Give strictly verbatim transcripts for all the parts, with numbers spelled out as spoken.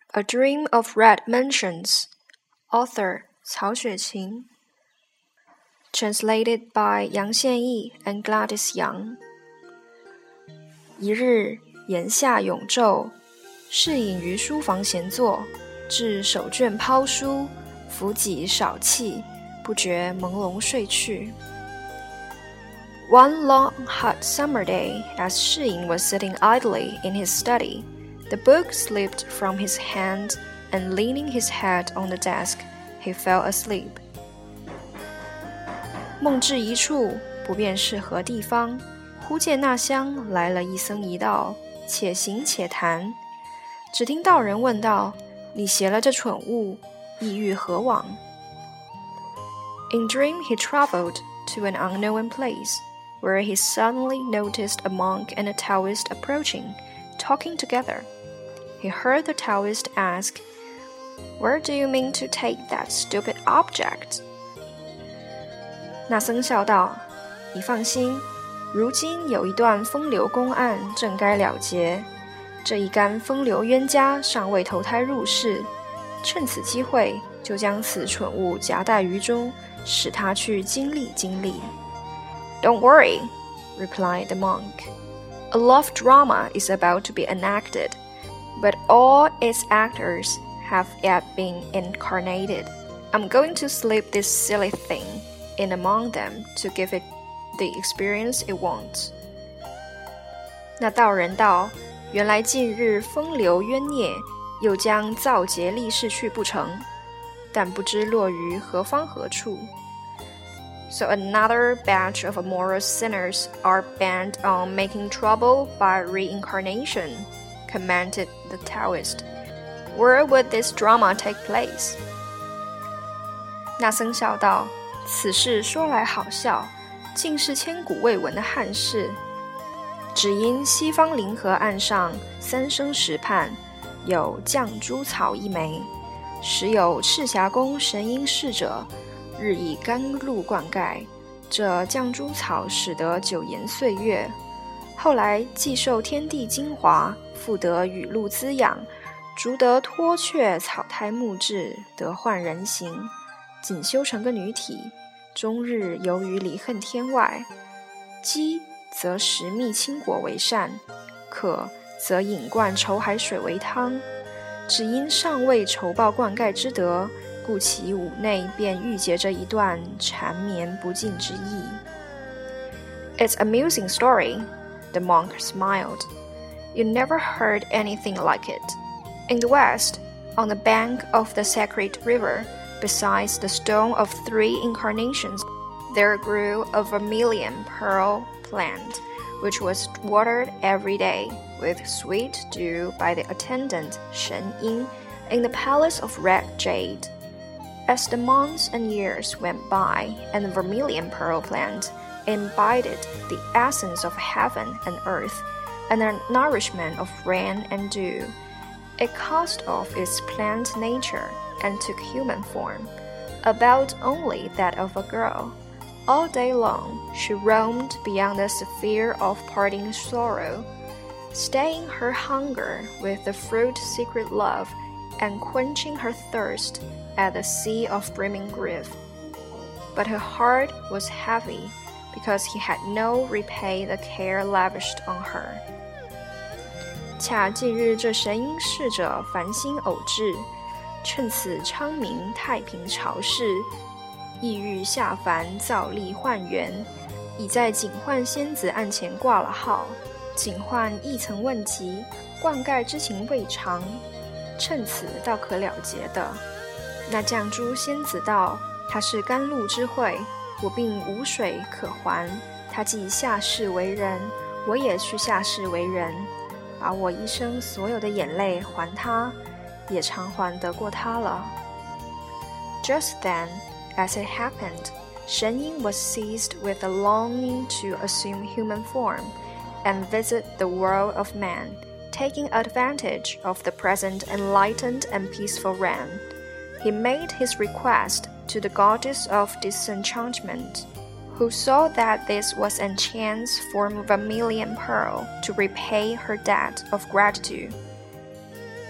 A Dream of Red Mansions, Author 曹雪芹 Translated by 杨宪益 and Gladys Young 一日檐下永昼，适隐于书房闲坐，至手卷抛书，扶脊少气，不觉朦胧睡去。One long hot summer day, as 适隐 was sitting idly in his study, the book slipped from his hand, and leaning his head on the desk, he fell asleep. 梦至一处，不辨是何地方，忽见那厢来了一僧一道，且行且谈。只听道人问道：“你携了这蠢物，意欲何往？” In dream he traveled to an unknown place, where he suddenly noticed a monk and a Taoist approaching, talking together. He heard the Taoist ask, "Where do you mean to take that stupid object?" 那僧笑道：“你放心，如今有一段风流公案正该了结，这一干风流冤家尚未投胎入世，趁此机会就将此蠢物夹带于中，使他去经历经历。” "Don't worry," replied the monk. "A love drama is about to be enacted, but all its actors have yet been incarnated. I'm going to slip this silly thing in among them to give it the experience it wants." 那道人道：“原来近日风流冤孽，又将造劫立世去不成，但不知落于何方何处。” So another batch of immoral sinners are bent on making trouble by reincarnation, commented the Taoist. Where would this drama take place? 那僧笑道：“此事说来好笑，竟是千古未闻的憾事。只因西方灵河岸上三生石畔有绛珠草一枚，时有赤霞宫神瑛侍者日以甘露灌溉，这绛珠草使得久延岁月。后来既受天地精华，复得雨露滋养，逐得脱却草胎木质，得换人形，仅修成个女体，终日游于离恨天外。饥则食蜜青果为膳，渴则饮灌稠海水为汤。只因尚未酬报灌溉之德，故其五内便郁结着一段缠绵不尽之意。” "It's an amusing story," the monk smiled. "You never heard anything like it. In the West, on the bank of the sacred river, besides the stone of three incarnations, there grew a vermilion pearl plant, which was watered every day with sweet dew by the attendant Shen Ying in the palace of red jade. As the months and years went by, and the vermilion pearl plant imbibed the essence of heaven and earth, and the nourishment of rain and dew, it cast off its plant nature and took human form, about only that of a girl. All day long she roamed beyond the sphere of parting sorrow, staying her hunger with the fruit-secret love, and quenching her thirst at the sea of brimming grief. But her heart was heavy, because he had no repay the care lavished on her. 恰近日这神瑛侍者繁星偶至，趁此昌明太平朝事，意欲下凡造历换元，已在警幻仙子案前挂了号。警幻亦曾问及，灌溉之情未尝，趁此倒可了结的。那绛珠仙子道：“他是甘露之惠，我并无水可还。他既下世为人，我也去下世为人，把我一生所有的眼泪还他，也偿还得过他了。” Just then, as it happened, Shen Ying was seized with a longing to assume human form and visit the world of man, taking advantage of the present enlightened and peaceful realm. He made his request to the goddess of disenchantment, who saw that this was a chance for vermilion pearl to repay her debt of gratitude.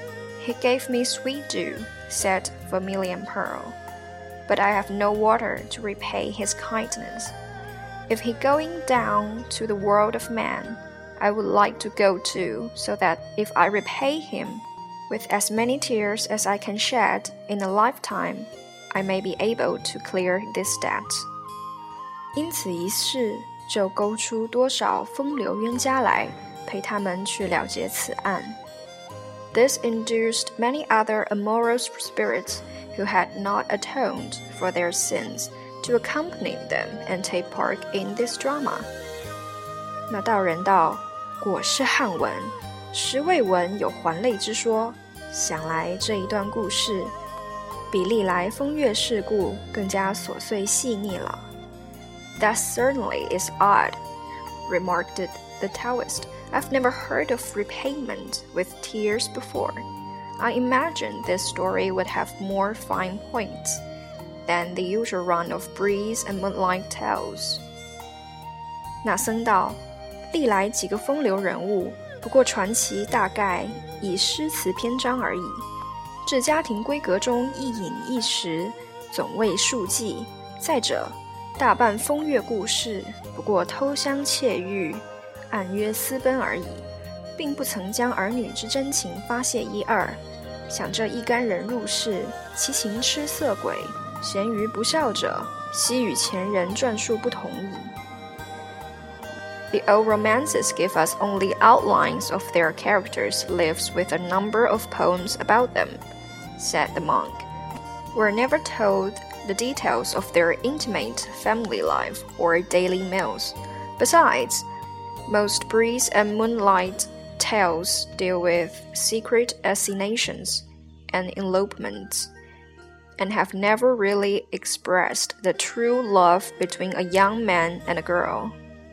He gave me sweet dew, said Vermilion Pearl, but I have no water to repay his kindness. If he going down to the world of man, I would like to go too, so that if I repay him with as many tears as I can shed in a lifetime, I may be able to clear this debt. 因此一事就勾出多少风流冤家来，陪他们去了结此案。This induced many other amorous spirits who had not atoned for their sins to accompany them and take part in this drama. 那道人道，果是汉文，实未闻有还泪之说，想来这一段故事比历来风月事故更加琐碎细腻了。That certainly is odd, remarked the Taoist. I've never heard of repayment with tears before. I imagine this story would have more fine points than the usual run of breeze and moonlight tales. 那僧道，历来几个风流人物，不过传奇大概以诗词篇章而已。至家庭闺阁中一饮一食，总为数计。再者，大半风月故事，不过偷香窃玉，暗约私奔而已，并不曾将儿女之真情发泄一二。想这一干人入世，其情痴色鬼，咸于不孝者，悉与前人传述不同矣。The old romances give us only outlines of their characters' lives with a number of poems about them, said the monk. We're never told the details of their intimate family life or daily meals. Besides, most breeze and moonlight tales deal with secret assignations and elopements, and have never really expressed the true love between a young man and a girl.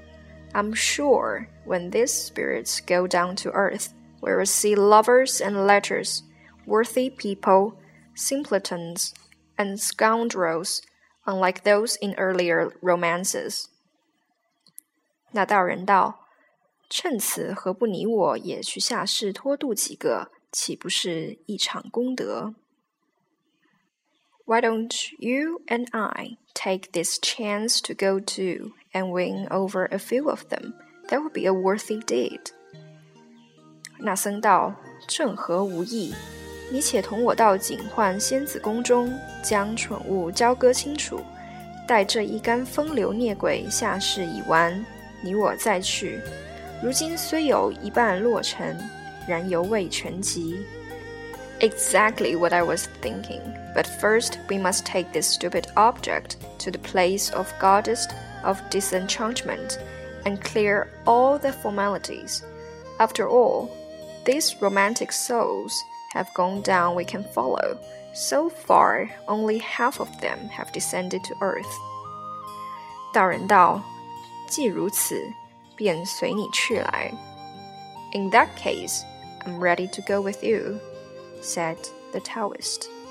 I'm sure when these spirits go down to earth, we will see lovers and letters, worthy people, simpletons, and scoundrels, unlike those in earlier romances. 那道人道，趁此何不你我也去下世托度几个，岂不是一场功德？ Why don't you and I take this chance to go too and win over a few of them? That would be a worthy deed. 那僧道，正合无益，你且同我到警幻仙子宫中，将蠢物交割清楚，待这一干风流孽鬼下世已完，你我再去。如今虽有一半落成，然犹未全集。Exactly what I was thinking, but first we must take this stupid object to the place of goddess of disenchantment and clear all the formalities. After all, these romantic souls have gone down we can follow. So far, only half of them have descended to earth. 道人道，既如此，便随你去来。In that case, I'm ready to go with you, said the Taoist.